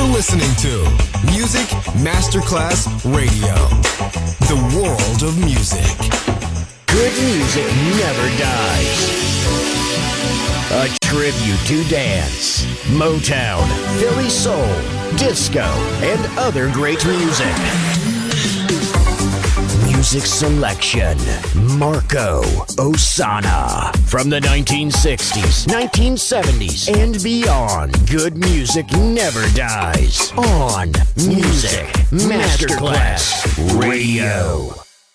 listening to Music Masterclass Radio, the world of music. Good music never dies. A tribute to dance, Motown, Philly soul, disco, and other great music. Music selection, Marco Ossanna. From the 1960s, 1970s, and beyond, good music never dies. On Music Masterclass Radio.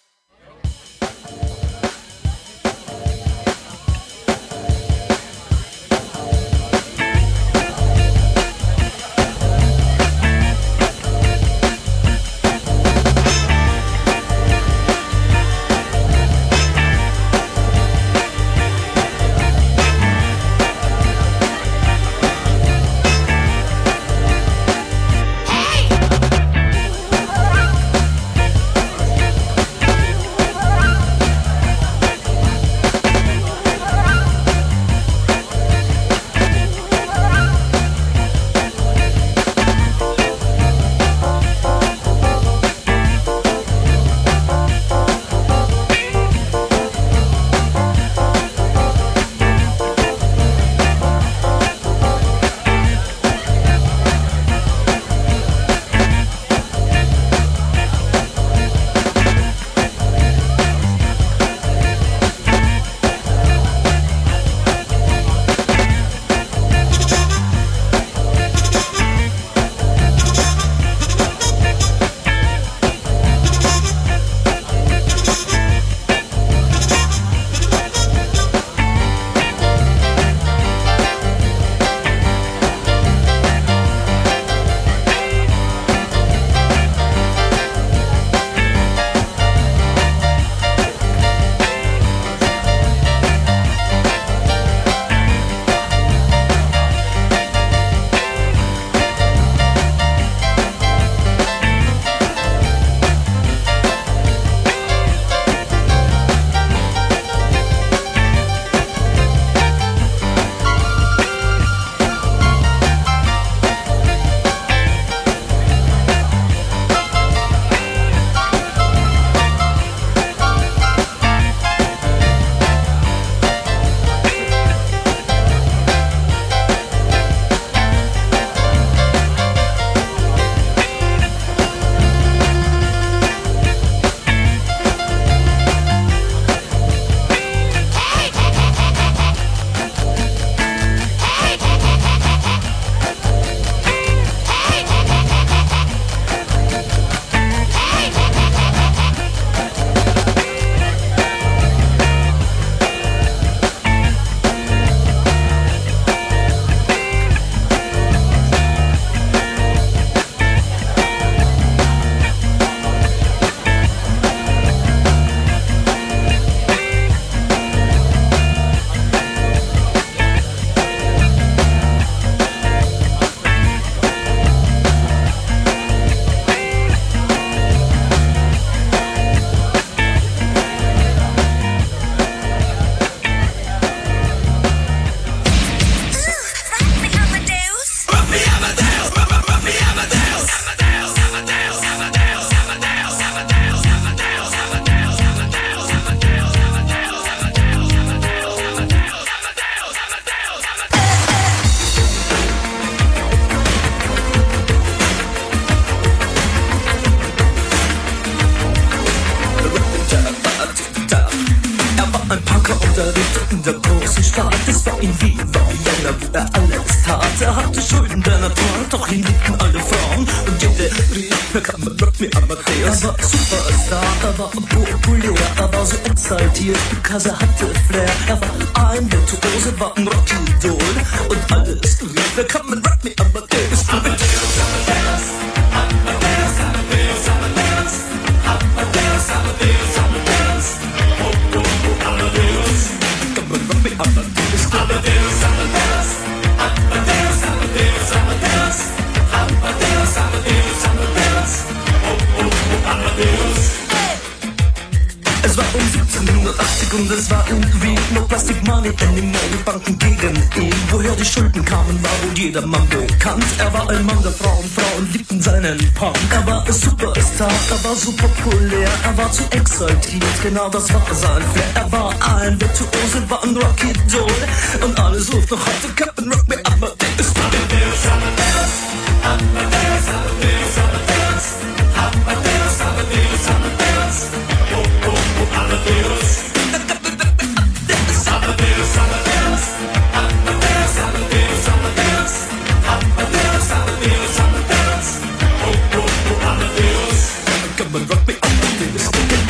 in der großen Stadt. Es war ihm wie Vienna, wo er alles tat. Er hatte Schulden der Natur, doch ihn liebten alle Frauen. Und jede rief, kann man Rock me Amadeus. Er war Superstar, er war populär, er war so exaltiert, because er hatte Flair. Er war ein Virtuose, war ein Rockidol. Und alles rief, kann man Rock me Amadeus. Amadeus, Amadeus, Amadeus, Amadeus, Amadeus, Amadeus, Amadeus, Amadeus, oh, oh, oh, Amadeus. Come on, rock me Amadeus, Amadeus, Amadeus, Amadeus, Amadeus, Amadeus, Amadeus, Amadeus, Amadeus, oh, oh, oh, Amadeus. Es war um 1780 und es war irgendwie noch Plastic Money Anymore, die Banken gegen ihn. Woher die Schulden kamen, war wohl jedermann bekannt. Er war ein Mann der Frauen, Frauen liebten seinen Punk. Er war ein Superstar, er war so populär, er war zu exaltiert, genau das war sein Flair. Er war ein Virtuose, war ein Rocky-Doll und alle suchten noch heute Captain Rock Me Amadeus. Amadeus, Amadeus, Amadeus, Amadeus, Amadeus, Amadeus, Amadeus, Amadeus, oh, oh, oh, Amadeus. Amadeus, Amadeus, Amadeus, Amadeus, Amadeus, Amadeus, Amadeus, Amadeus, oh, oh, oh, Amadeus. Come and rock me, Amadeus.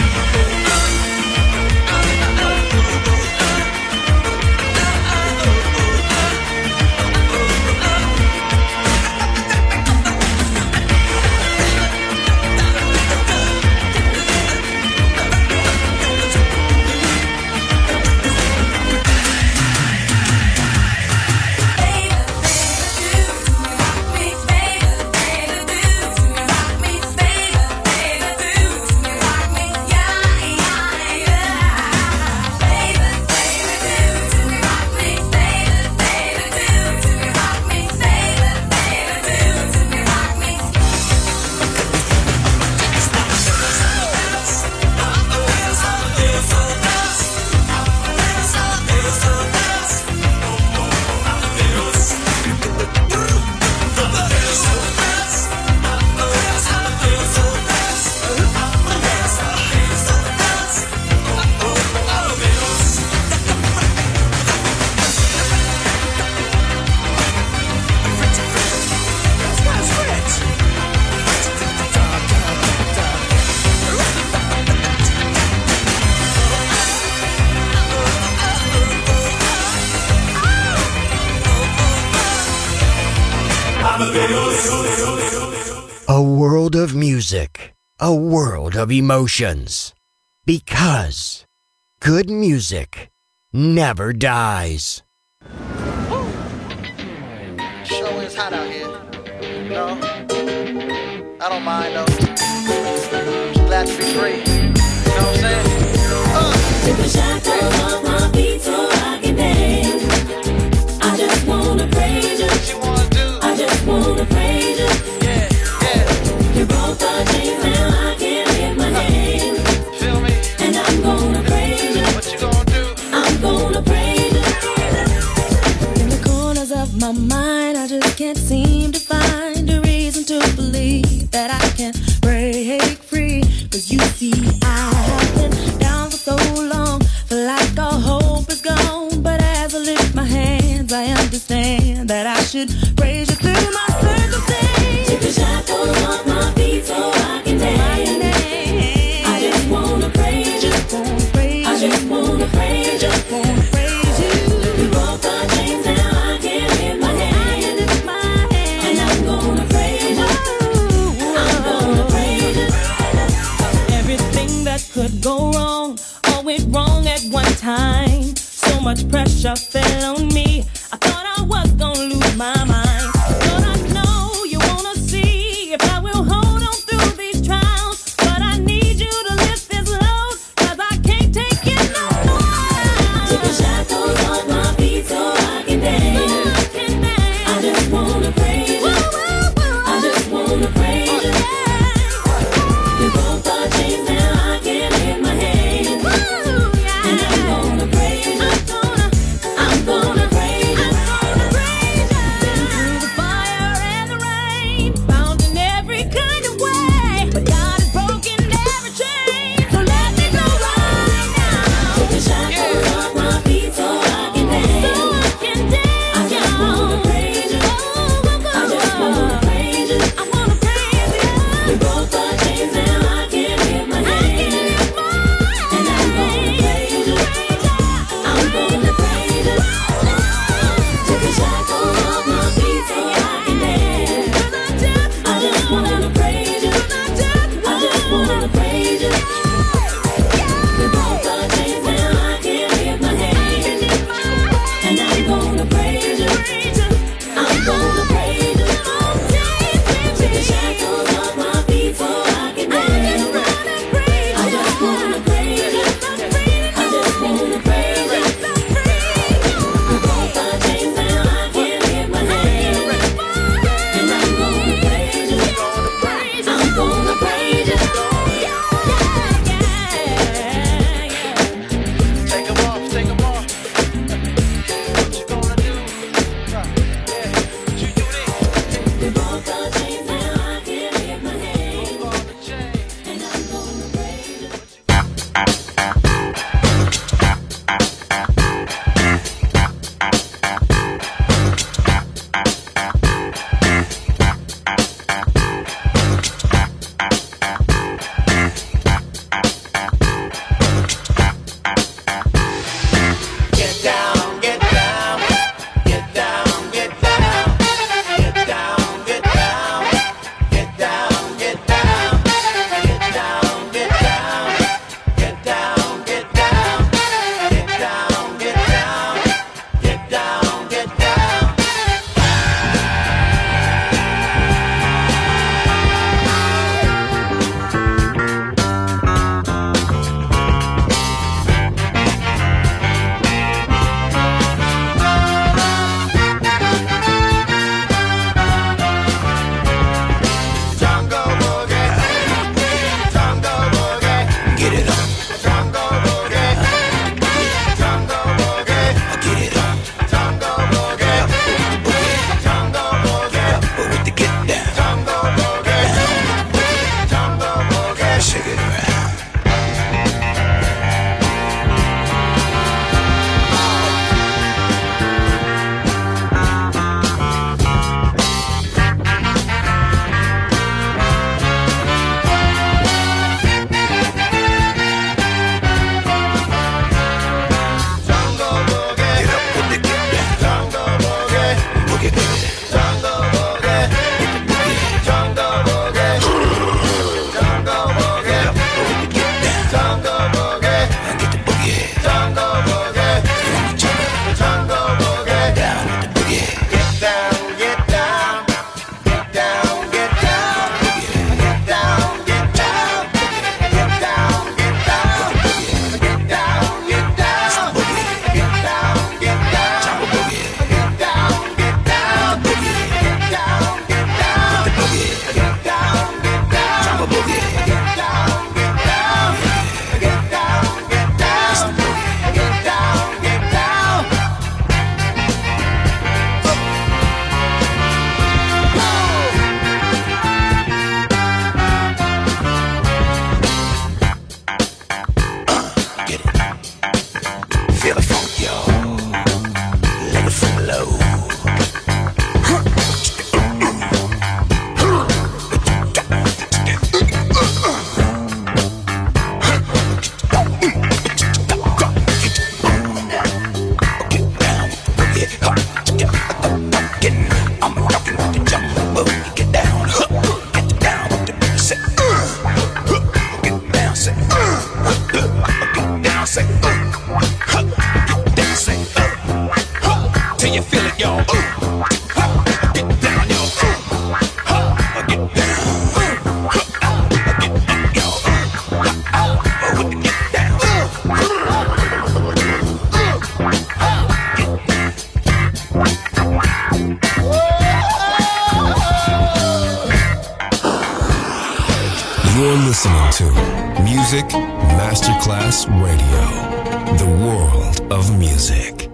A world of music, a world of emotions. Because good music never dies. Show is hot out here. No, I don't mind though. Just glad to be free. You know what I'm saying? Take the shackles off my feet so I can dance. I just wanna praise you. What you wanna do? I just wanna praise you. Yeah, yeah. You broke the chains, now I can lift my hand. Feel me? And I'm gonna praise you. What you gonna do? I'm gonna praise you. In the corners of my mind, I just can't seem to find a reason to believe that I can break free. 'Cause you see, I have been down for so long, feel like all hope is gone. But as I lift my hands, I understand that I should praise you through my circumstance. Take the shackles off my feet so I can dance. I just wanna praise you. I just wanna praise you. You broke the chains, now I can lift my hand. And I'm gonna praise you. I'm gonna praise you. Everything that could go wrong, all went wrong at one time. So much pressure fell on me, I thought I was gonna lose my mind. But I know you wanna see if I will hold on through these trials. But I need you to lift this load, 'cause I can't take it no more. Take the shackles off my feet so I can dance. I just wanna praise you. I just wanna praise you. You broke the chains, now I can lift my hand. And I'm gonna praise you. I'm You're listening to Music Masterclass Radio, the world of music.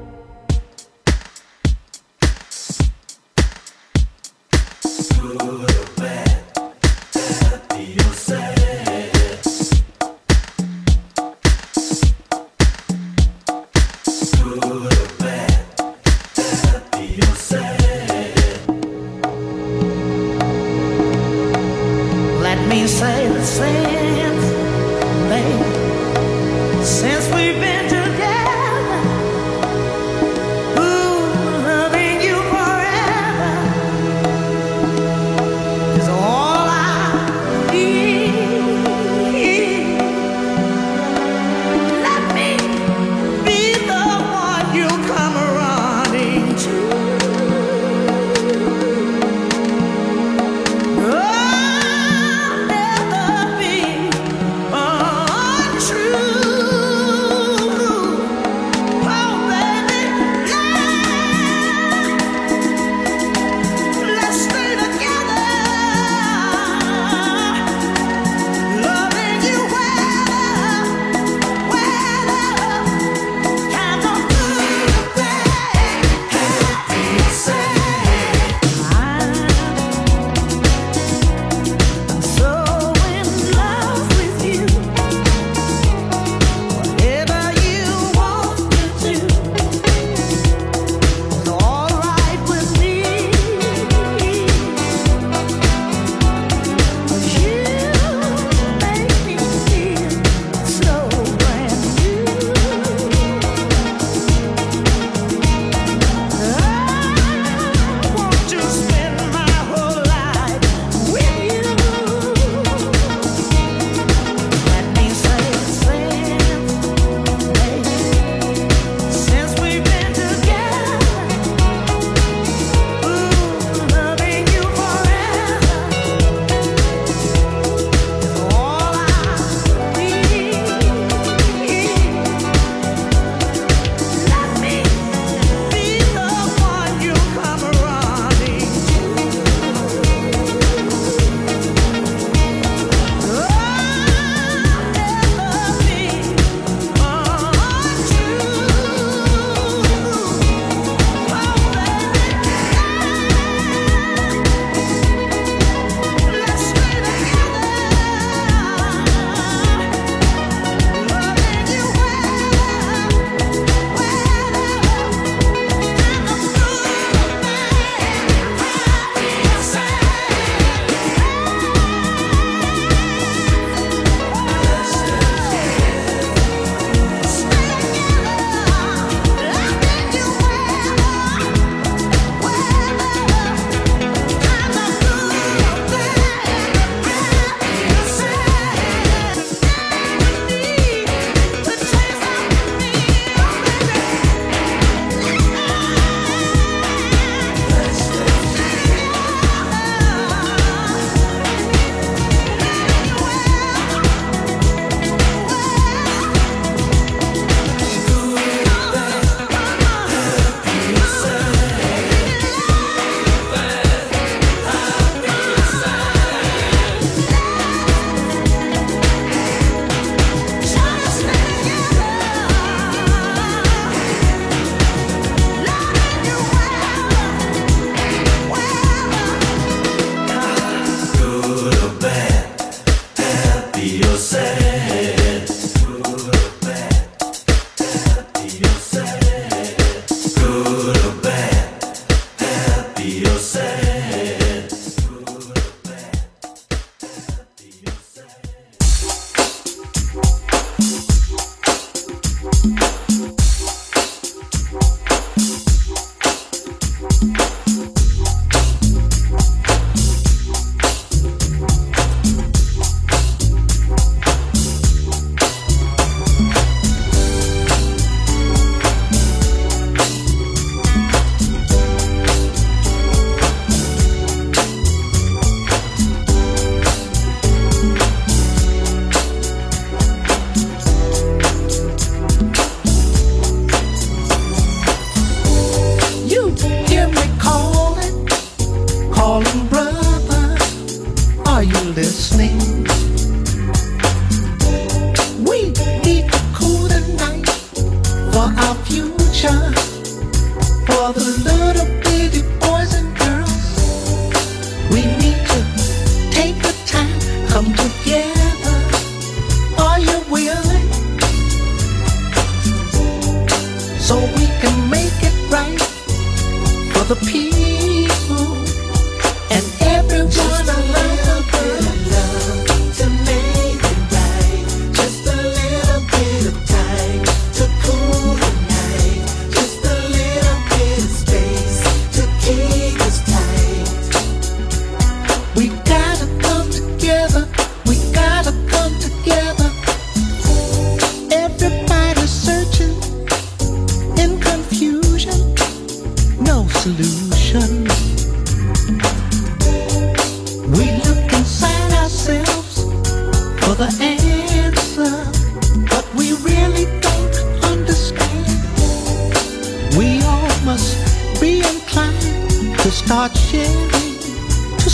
Be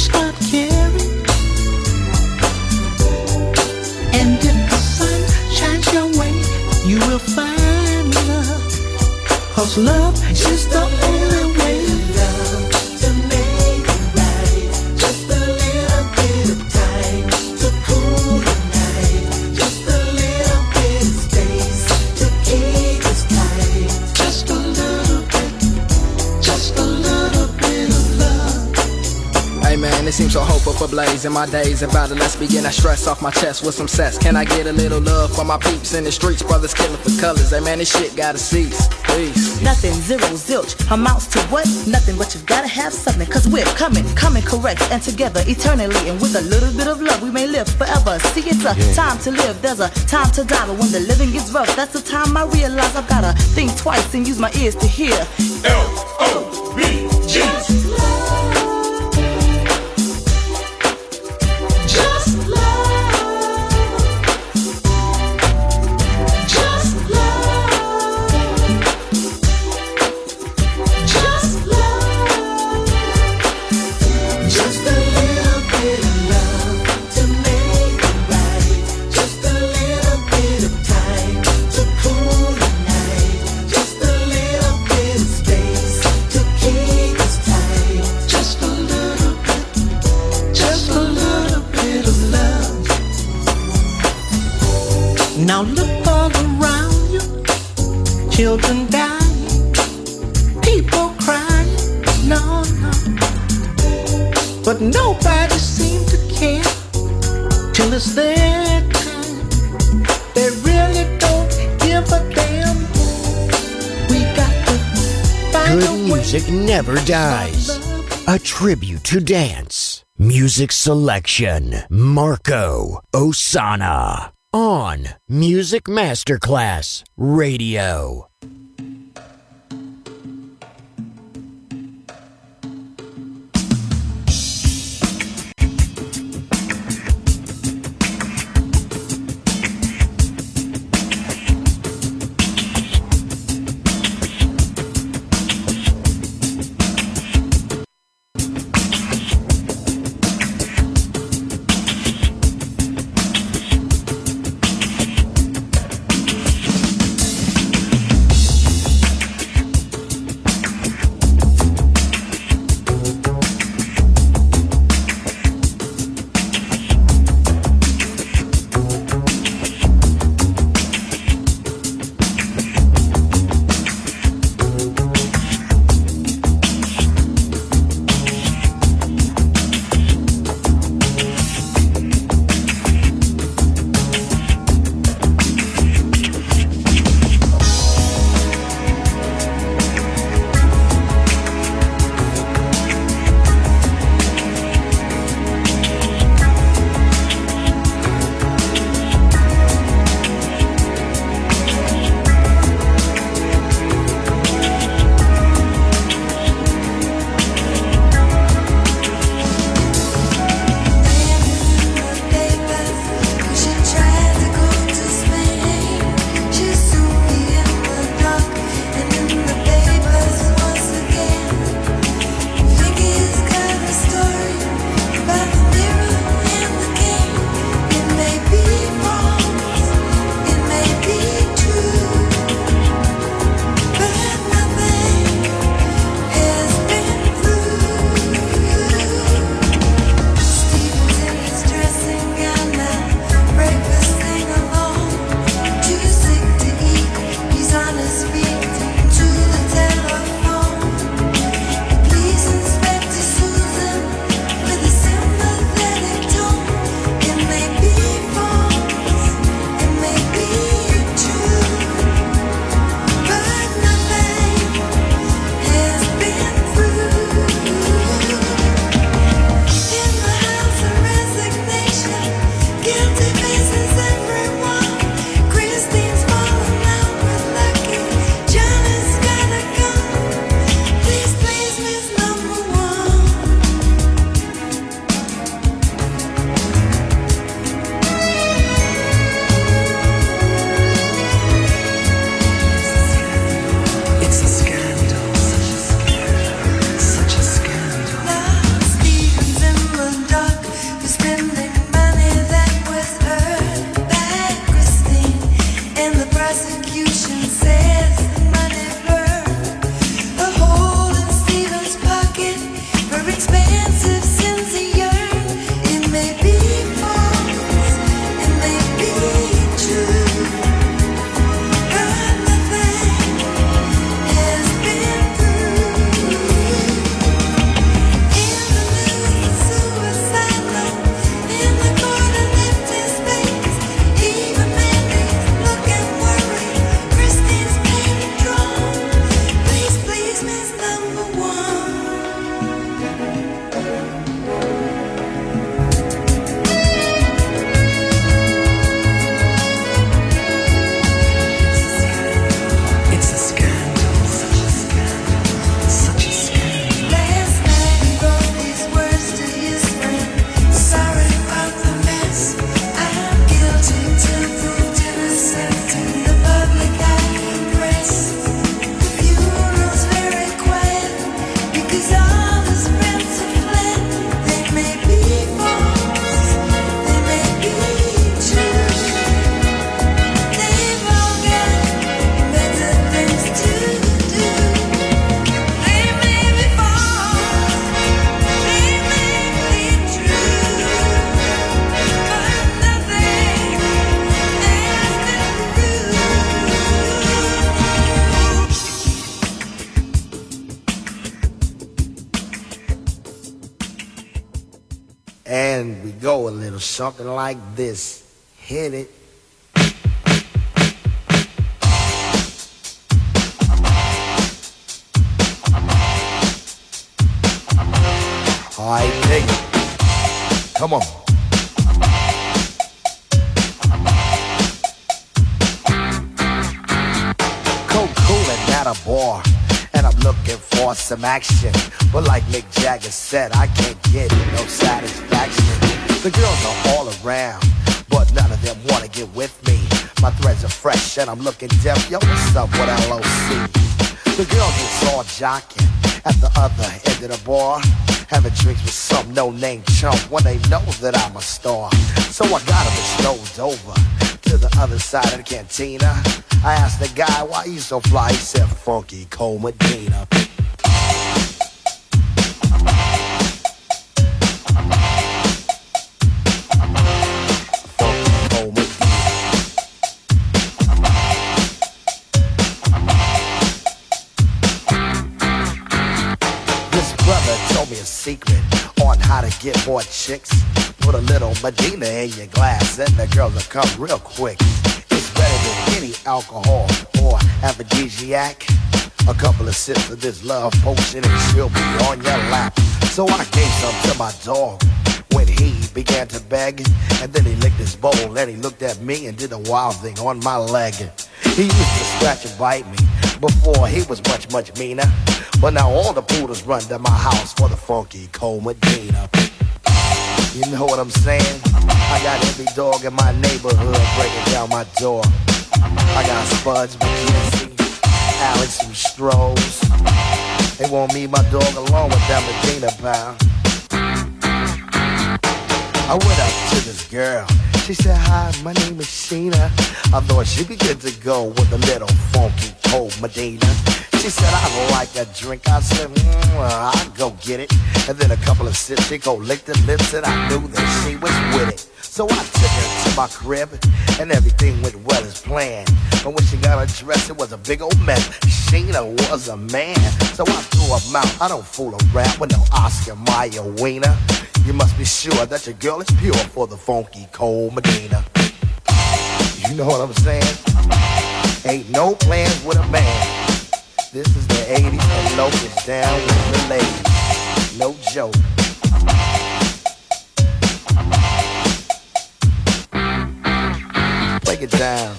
start caring. And if the sun shines your way, you will find love. 'Cause love is the only way. Love to make it right. Just a little bit of time to cool the night. Just a little bit of space to keep us tight. Just a little bit of love. Hey man, it seems so hopeful for blaze in my days. About it, let's begin. I stress off my chest with some cess. Can I get a little love for my peeps in the streets? Brothers killing for colors. Hey man, this shit gotta cease. Please. Nothing, zero, zilch, amounts to what? Nothing, but you've gotta have something. 'Cause we're coming correct and together eternally. And with a little bit of love, we may live forever. See, it's a time to live, there's a time to die. But when the living gets rough, that's the time I realize I've gotta think twice and use my ears to hear. L-O-V-G. Now look all around you, children dying, people crying, no. But nobody seems to care till it's their time. They really don't give a damn. We got to find Good music never dies. A tribute to dance. Music selection, Marco Ossanna. On Music Masterclass Radio. And we go a little something like this. Hit it. I dig it. Come on. Coolin' at a bar, and I'm looking for some action. But like Mick Jagger said, I can't get no satisfaction. The girls are all around, but none of them wanna get with me. My threads are fresh and I'm looking deaf. Yo, what's up with LOC? The girls is all jocking at the other end of the bar, having drinks with some no-name chump when they know that I'm a star. So I got him strolled over to the other side of the cantina. I asked the guy, why you so fly? He said, Funky Cole Medina. Secret on how to get more chicks. Put a little Medina in your glass and the girls will come real quick. It's better than any alcohol or aphrodisiac. A couple of sips of this love potion and she'll be on your lap. So I gave some to my dog when he began to beg. And then he licked his bowl and he looked at me and did a wild thing on my leg. He used to scratch and bite me before he was much, much meaner. But now all the poodles run to my house for the Funky Cole Medina. You know what I'm saying? I got every dog in my neighborhood breaking down my door. I got Spuds, McKenzie, Alex, and Strohs. They want me, my dog, along with that Medina pal. I went up to this girl. She said, hi, my name is Sheena. I thought she'd be good to go with a little Funky Cole Medina. She said, I like a drink. I said, I'll go get it. And then a couple of sips, she go lick the lips, and I knew that she was with it. So I took her to my crib, and everything went well as planned. But when she got her dress, it was a big old mess. Sheena was a man, so I threw her out. I don't fool around with no Oscar Mayer wiener. You must be sure that your girl is pure for the Funky Cole Medina. You know what I'm saying? Ain't no plans with a man. This is the 80s and Locust down with the ladies. No joke. Break it down.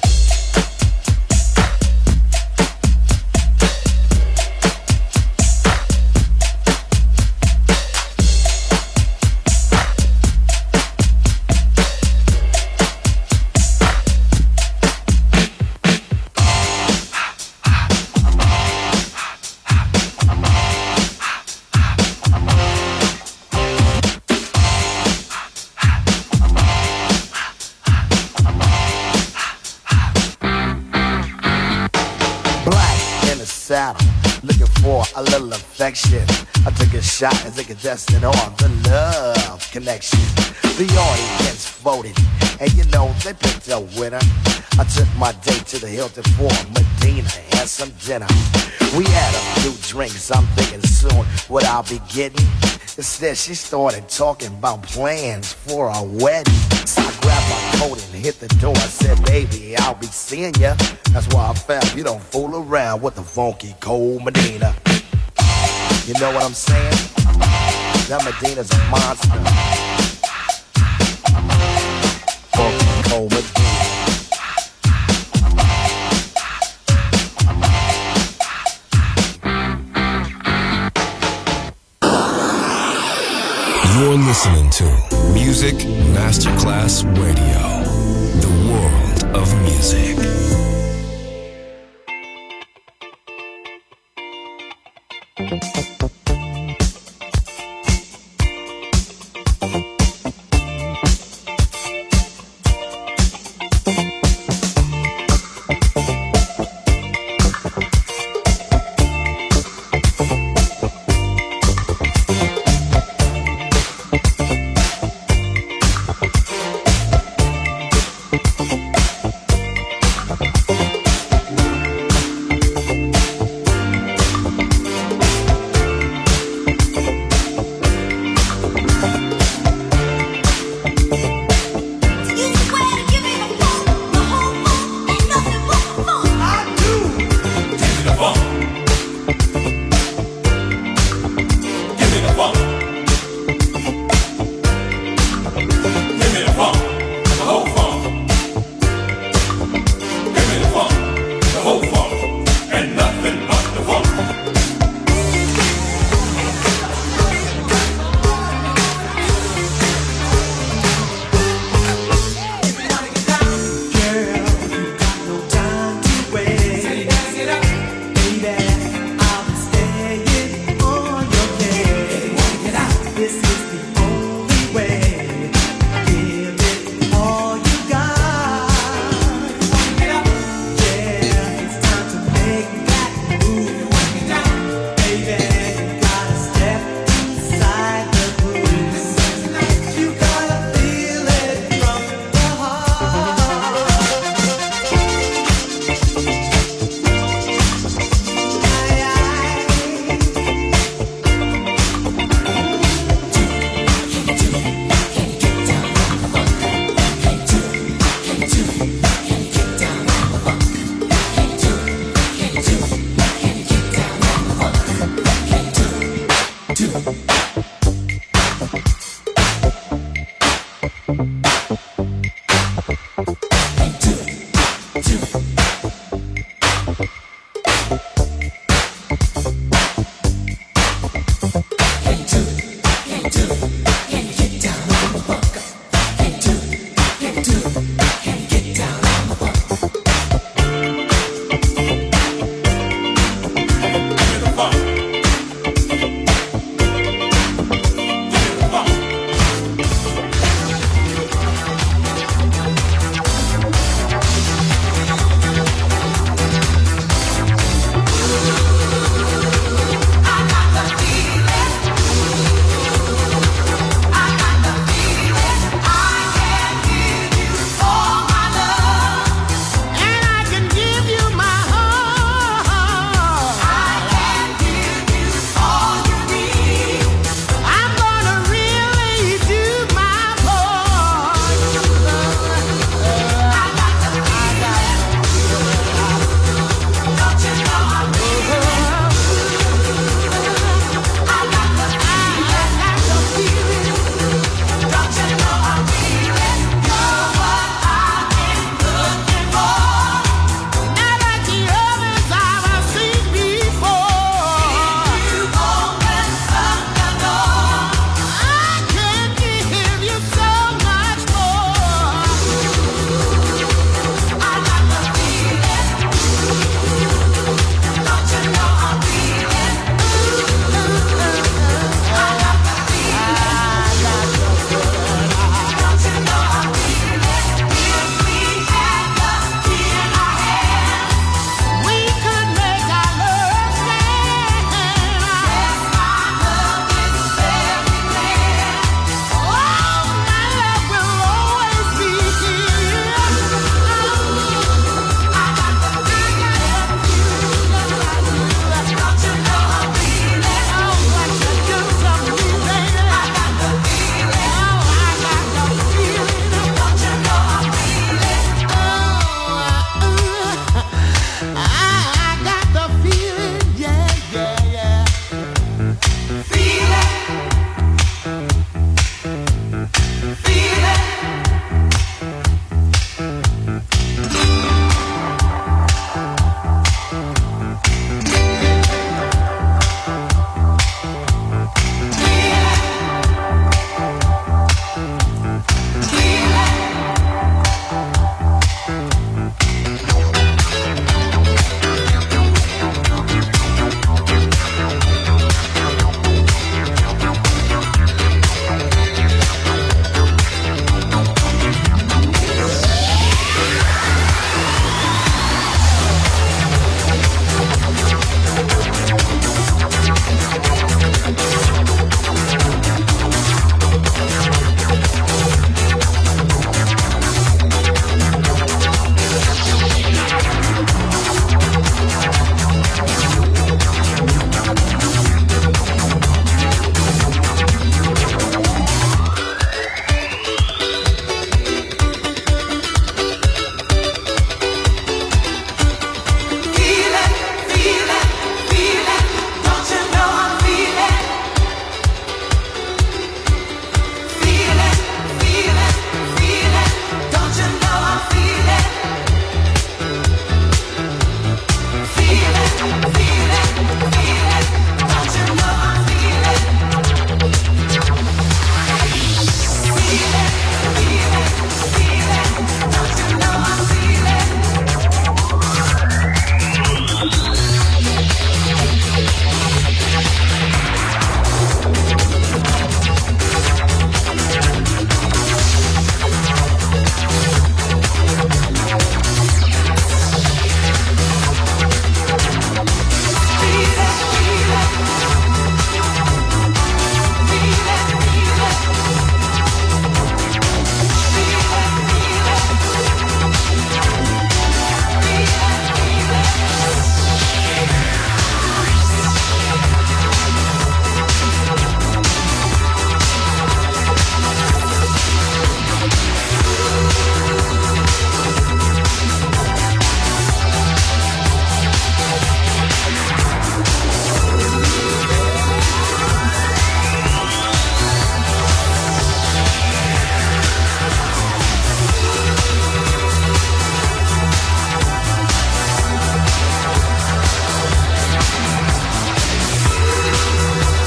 Looking for a little affection. I took a shot as a contestant on the Love Connection. The audience voted, and you know they picked a winner. I took my date to the Hilton for Medina and some dinner. We had a few drinks, I'm thinking soon what I'll be getting. Instead she started talking about plans for a wedding. So I grabbed my coat and hit the door. I said, baby, I'll be seeing ya. That's why I found you don't fool around with the Funky Cole Medina. You know what I'm saying? That Medina's a monster. Funky Cole Medina. You're listening to Music Masterclass Radio, the world of music.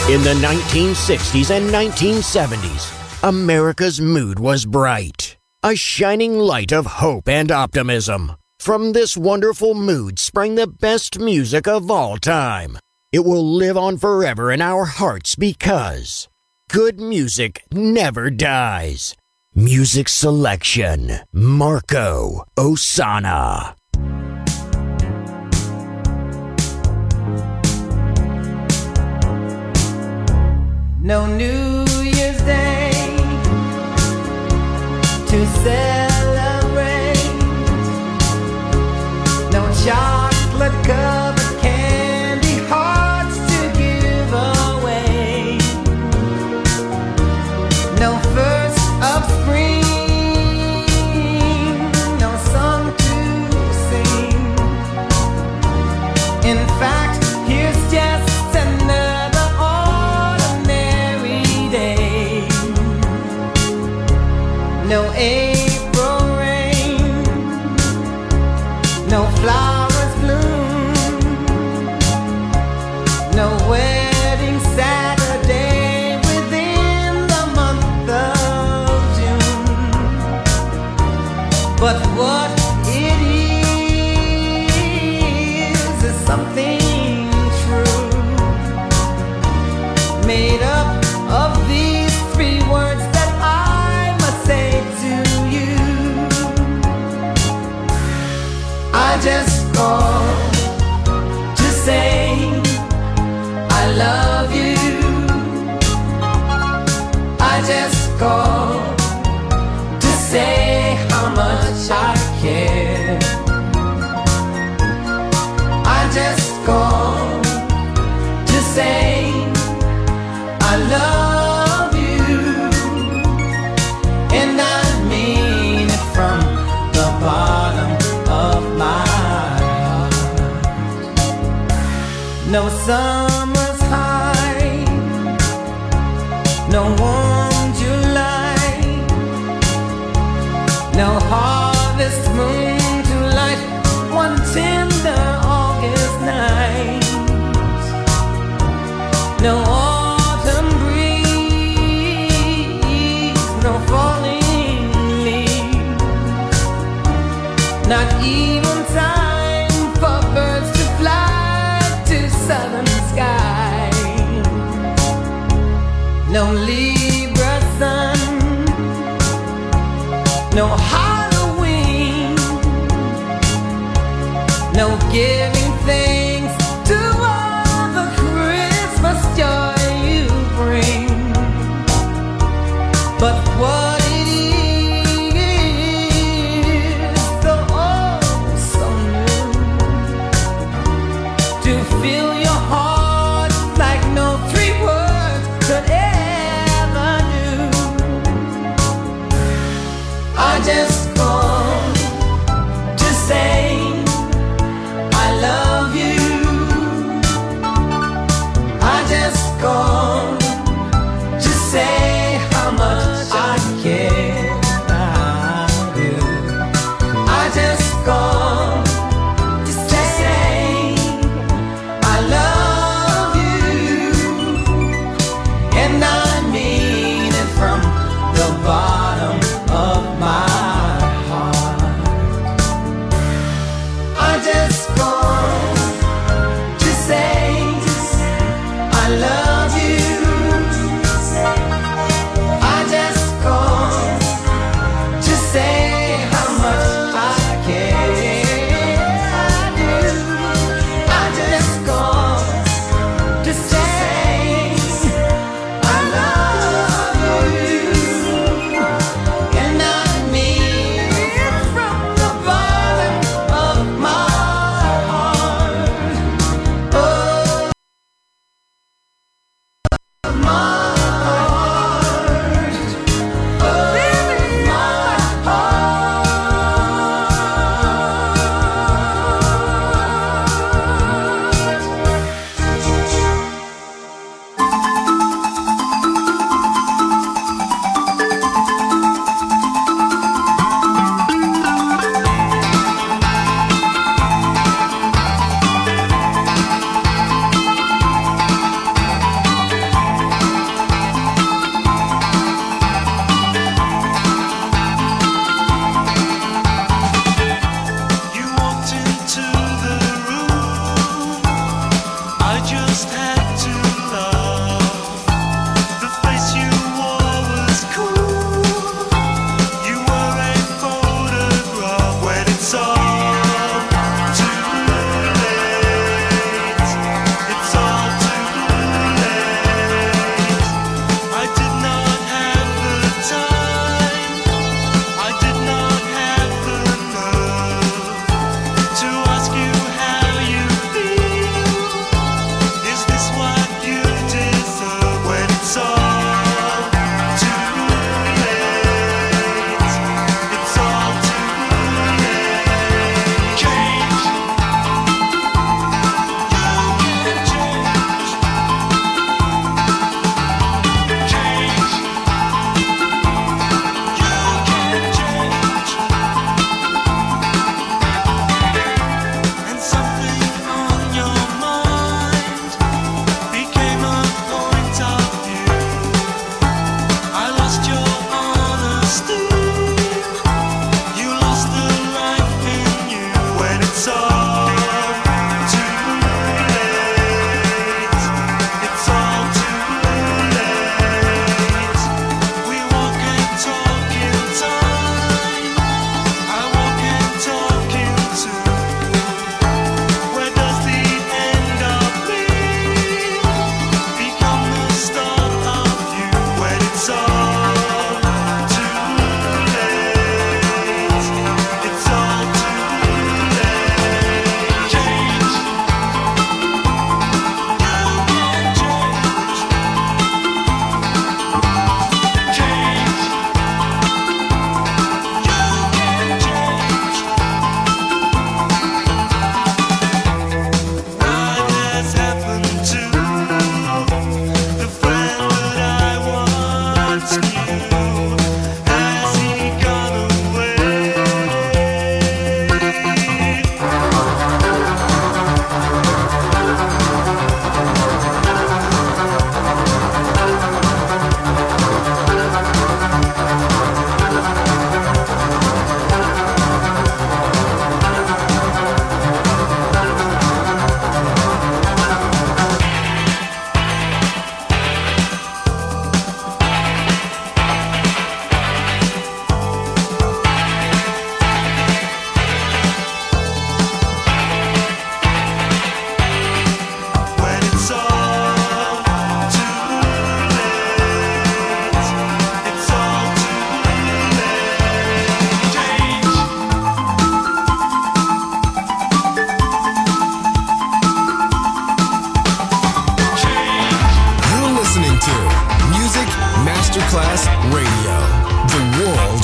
In the 1960s and 1970s, America's mood was bright, a shining light of hope and optimism. From this wonderful mood sprang the best music of all time. It will live on forever in our hearts because good music never dies. Music selection, Marco Ossanna. No New Year's Day to celebrate. No chocolate covered candy hearts to give away. No first of spring, no song to sing. In fact, here's just another no April rain, no flowers bloom, no wedding Saturday within the month of June. But what it is something true, made up of these three words that I must say to you. I just called to say I love you. I just called to say how much I care. I just called to say I love you, and I mean it from the bottom of my heart. No summer's high, no warm July, no harvest moon to light one tender August night. No autumn breeze, no falling leaves, not even time for birds to fly to southern skies. No Libra sun, no Halloween, no giving thanks to all the Christmas joy you bring. But what it is, so oh so new, to fill your heart like no three words could ever do. I just called to say I love you. I just called to say how much I care.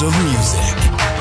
of music.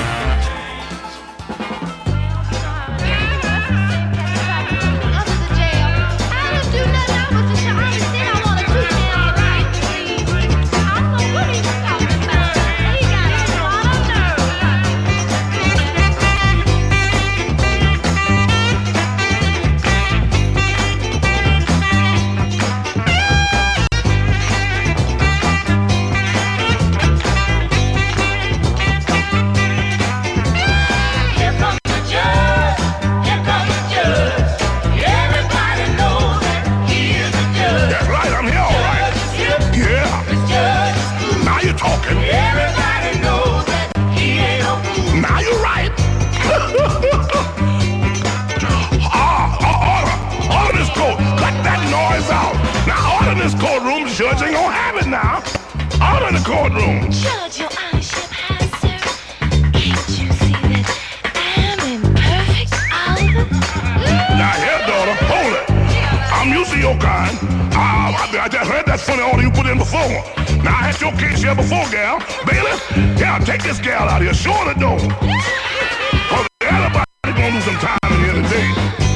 Judge ain't gonna have it now. Order in the courtroom. Judge, your honorship has, sir. Can't you see that I'm in perfect order? Now here, daughter, hold it. I'm used to your kind. I just heard that funny order you put in before. Now I had your case here before, gal. Bailey, yeah, take this gal out here. Show her the door. Cause everybody's gonna lose some time in here today.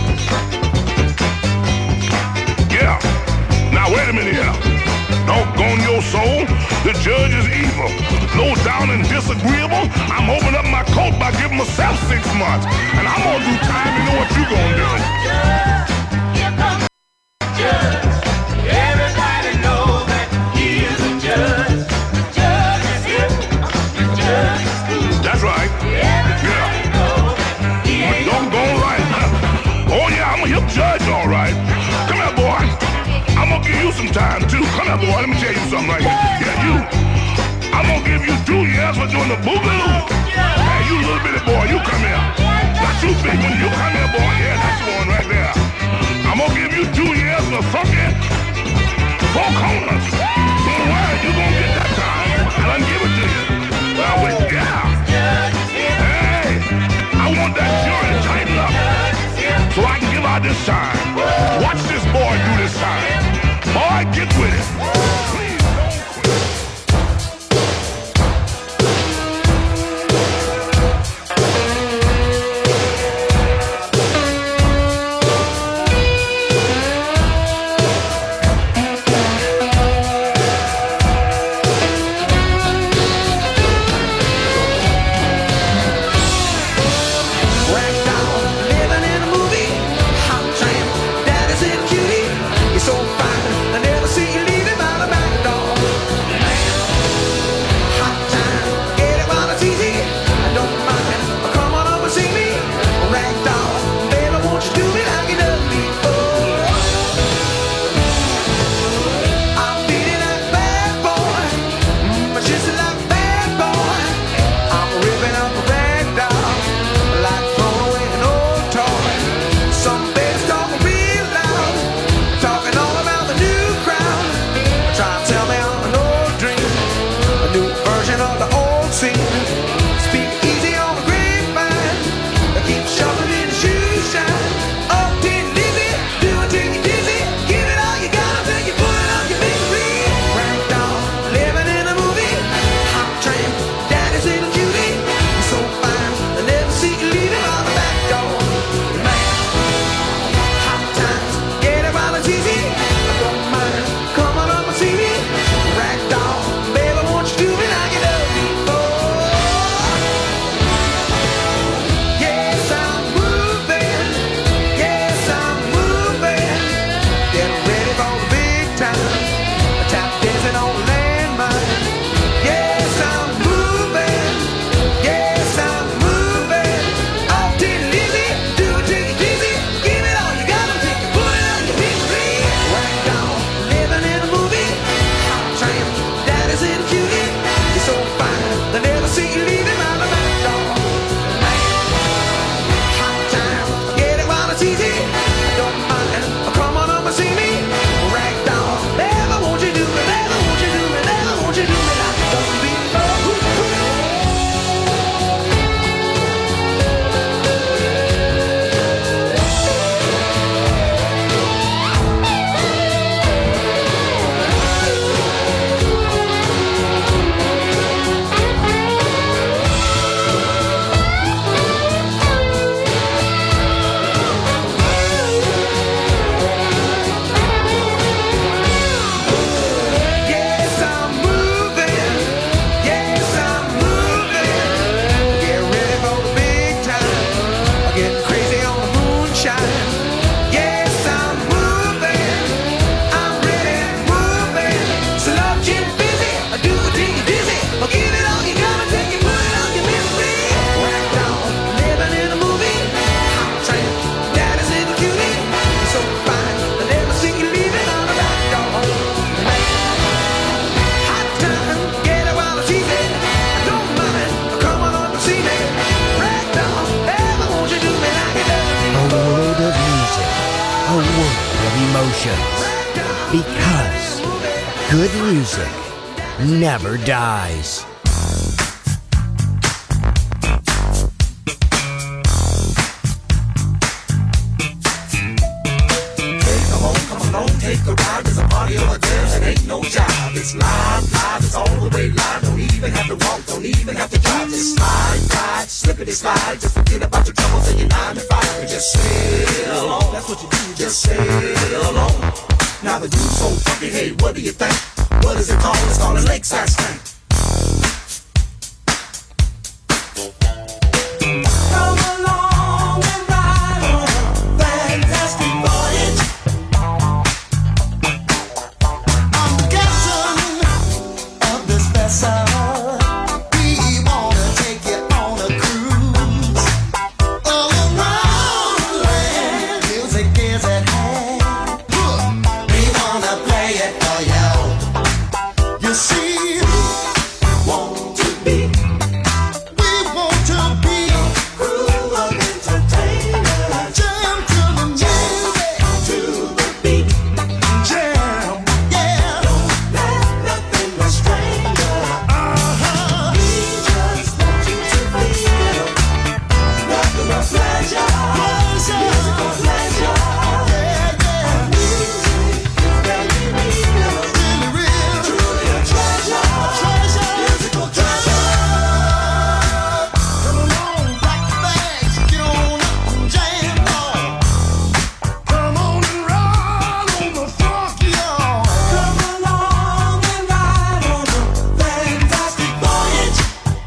Yeah. Now wait a minute here. Doggone your soul, the judge is evil. Low down and disagreeable. I'm opening up my coat by giving myself 6 months. And I'm gonna do time, you know what you gonna do. Here comes the judge. Everybody knows that he is a judge. The judge is here. The judge is cool. That's right. Everybody knows that he ain't doggone right. Oh yeah, I'm a hip judge, all right. Come here, boy. I'm gonna give you some time too. Come here, boy. Let me tell you something right here. Yeah, you. I'm gonna give you 2 years for doing the boogaloo. Hey, you little bitty boy, you come here. Not you big one, you come here, boy. Yeah, that's the one right there. I'm gonna give you 2 years for funky 4 corners. Don't worry, you gonna get that time. I done give it to you. Now wait, yeah. Hey, I want that jury to tighten up so I can give out this time. Watch this boy do this time. Boy, get with it. Please don't quit. living in a movie. I'm trying generations. Because good music never dies. Take a ride, there's a party over there that ain't no job. It's live, it's all the way live. Don't even have to walk, don't even have to drive. Just slide, ride, slippity slide. Just forget about your troubles and your 9 to 5 and just sail along. That's what you do, just sail along. Now the dude's so funky, hey, what do you think? What is it called? It's called a lakeside stank. Come along and ride on a fantastic voyage. We wanna take you on a cruise all around the land. Music is at hand. We wanna play it for you. You see, we want to be a crew of entertainers. Jam to the music, to the beat. Jam, yeah. Don't let nothing restrain you. Pleasure, musical pleasure. Yeah, yeah. Music is very real, really real. Truly a treasure, musical treasure. Come along, pack your bags, get on up and jam on. Come on and ride on the funk, y'all. Come along and ride on the fantastic voyage.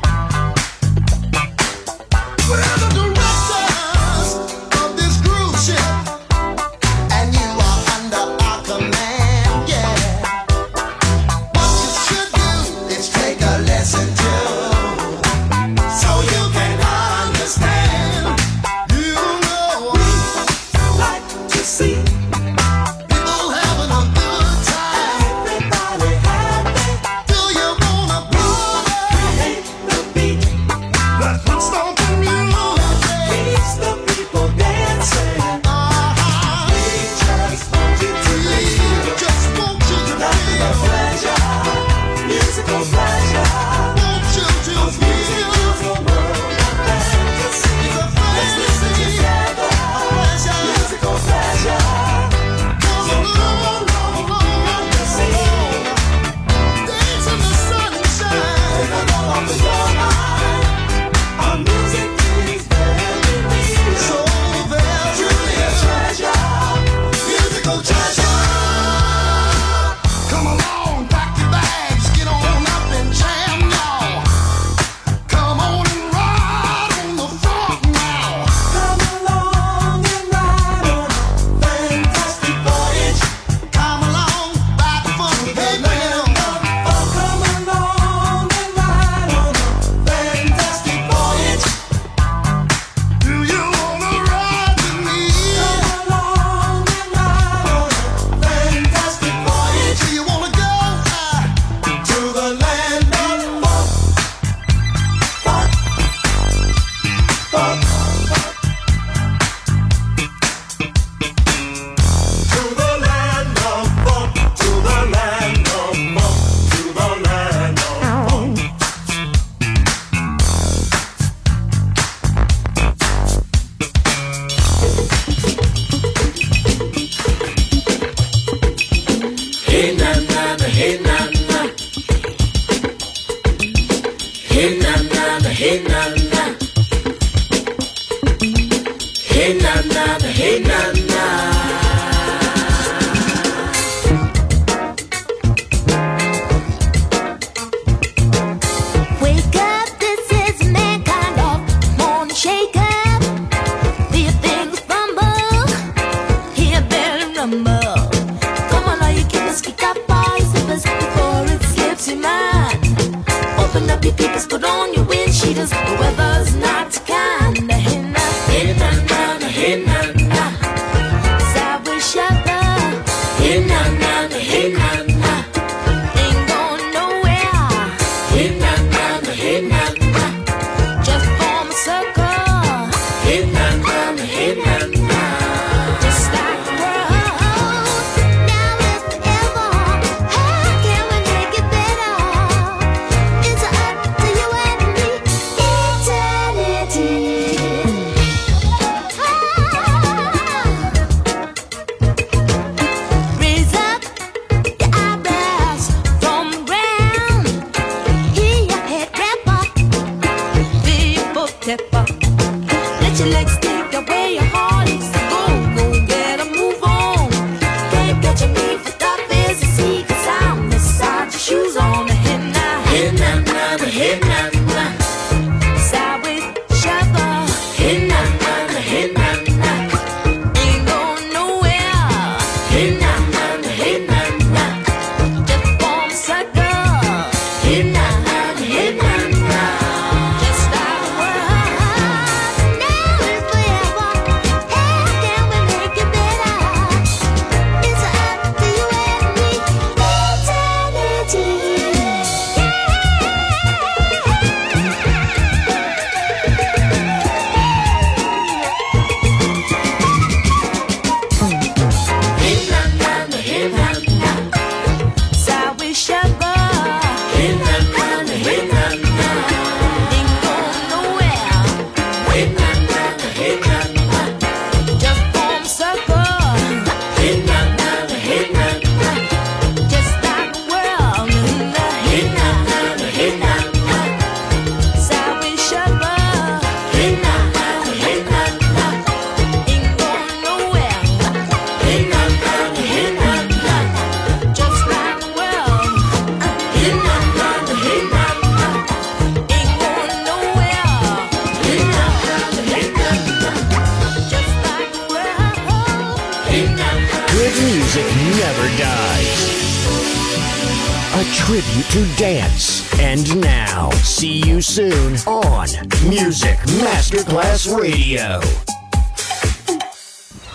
We're the directors of this cruise ship, and you are under our command, yeah. What you should do is take a lesson too, so you can understand. You know we like to see people having a good time. Everybody happy. Do you wanna create the beat? Let's put stomping music. Keeps the people dancing. We just want you to feel. Just want you to feel. Pleasure, musical pleasure. Want you to feel. It's a world of fantasy. It's a fantasy. Together, pleasure, musical pleasure. Come along, dance in the sunshine. Take a load off of your mind. Our music is very real, so very truly a treasure, musical treasure. Come along, pack your bags, get on up and jam, y'all. Come on and ride on the funk now. Come along and ride on a fantastic voyage. Come along, ride the funky land of funk. Come along and ride on a fantastic voyage. Do you wanna ride with me? Come along and ride on a fantastic voyage. Do you wanna go to the land of funk? Funk, funk, to the land of funk, to the land of funk, to the land of funk. Hey na na na, hey na na, hey na na na, hey na na, hey na na na, hey na na. Wake up, this is mankind of morning shake up. Feel things fumble, hear belly rumble. Come on, all you keepers, kick up all your slippers before it slips your mind. Open up your peepers, put on your wind cheaters. The weather's not kind. Hey na, hey na na na, hey na na. Side with shopper. Hey na na na, hey na na. Ain't going nowhere. Hey na na na, hey na na. Just form a circle. Hey na na na, hey na na. Just like the world. your legs, take away your heart. Go, get a move on. Can't catch me for that busy sea, 'cause I'm inside your shoes on the head now. Head now, the head now. Sideways, shuffle. Head now, the head now. Ain't going nowhere. Head now, the head now. Just form a circle. Head now, the head now. Just like a world. Now is forever. How can we make it better? It's up to you and me. Eternity. Sideways shuffle. Ain't going nowhere. Just form a circle. Just like a world. Sideways shuffle. Ain't going nowhere. Just like a world. Ain't going nowhere. Just like a world. Good music never dies. A tribute to dance. And now, see you soon on Music Masterclass Radio.